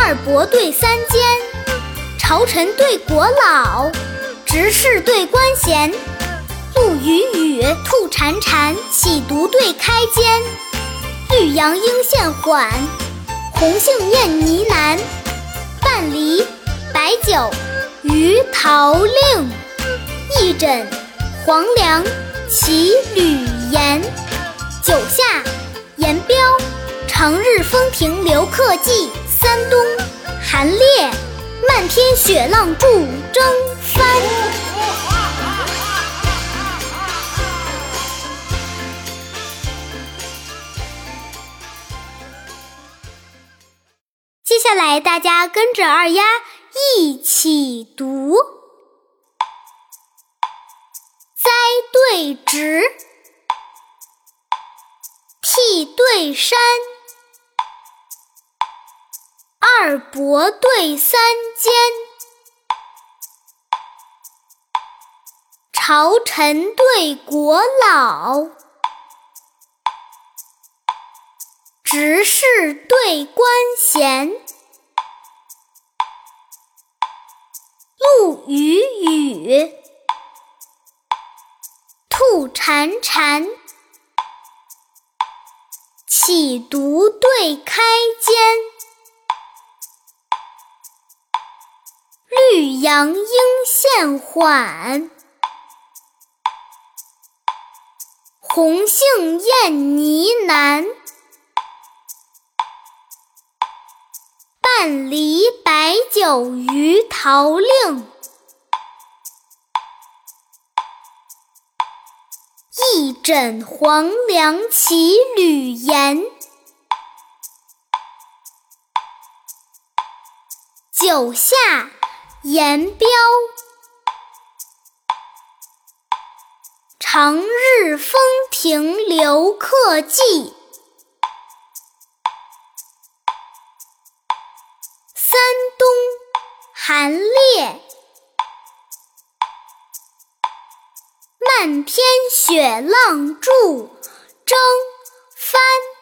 二伯对三监，朝臣对国老，执事对官衔。陆羽羽，兔潺潺，喜独对开间。绿杨莺现缓，红杏燕呢喃。半梨白酒，鱼桃令。一枕黄粱，骑吕岩。九下言标，长日风停留客骑。三冬寒冽，漫天雪浪筑征帆。接下来大家跟着二丫一起读：栽对直，替对山，二伯对三监，朝臣对国老，执事对官衔。陆羽羽，兔潺潺，喜独对开间。绿杨莺现缓，红杏燕呢喃。半梨白酒，鱼桃令。一枕黄粱，骑吕岩。九下言标，长日风停留客骑。三冬寒冽，漫天雪浪筑征帆。